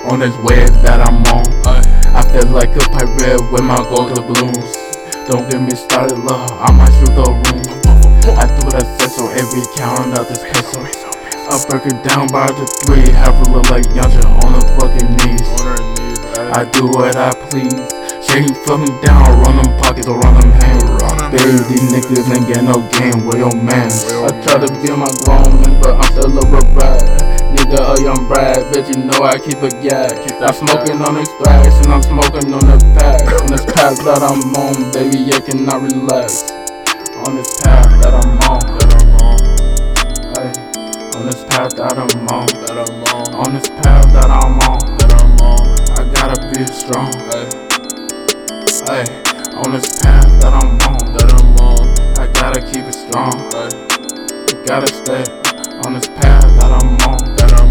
on this wave that I'm on. I feel like a pirate with my golden balloons. Don't get me started, love, I might shoot the room. I do what I said, so every count out this peso. I break it down by the 3, have her look like Yanja on her fucking knees. I do what I please. Shake you fuck me down, run them pockets or run them hands. Baby, these niggas ain't get no game, where your mans? I try to be my grown man, but I'm still a brat. Nigga, a young brat, bitch, you know I keep a yak. I'm smoking on this thrash, and I'm smoking on the pack. On this path that I'm on, baby, I cannot relax. On this path that I'm on, ay, on this path that I'm on, on this path that I'm on, I gotta be strong, ay, on this path that I'm on, I gotta keep it strong, I gotta stay on this path that I'm on,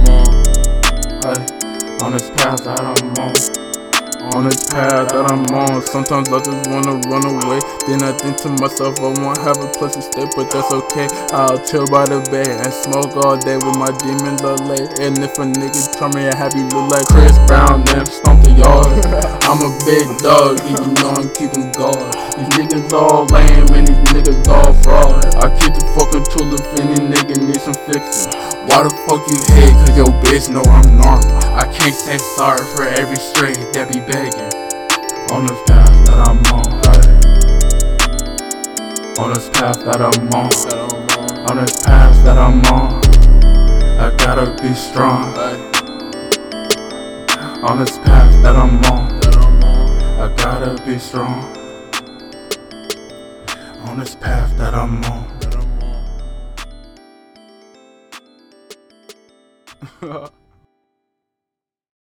ay, on this path that I'm on this path that I'm on. Sometimes I just wanna run away. Then I think to myself, I won't have a place to stay, but that's okay. I'll chill by the bay and smoke all day with my demon lay. And if a nigga tell me I have you look like Chris Brown, then stomp the yard. I'm a big dog, you know I'm keeping guard. These niggas all lame and these niggas all fraud. I keep the fucking tool if any nigga need some fixing. Why the fuck you hate? Cause your bitch know I'm normal. I can't say sorry for every stray that be begging. On this path that I'm on, on this path that I'm on this path that I'm on, I gotta be strong. On this path that I'm on, I gotta be strong. On this path that I'm on.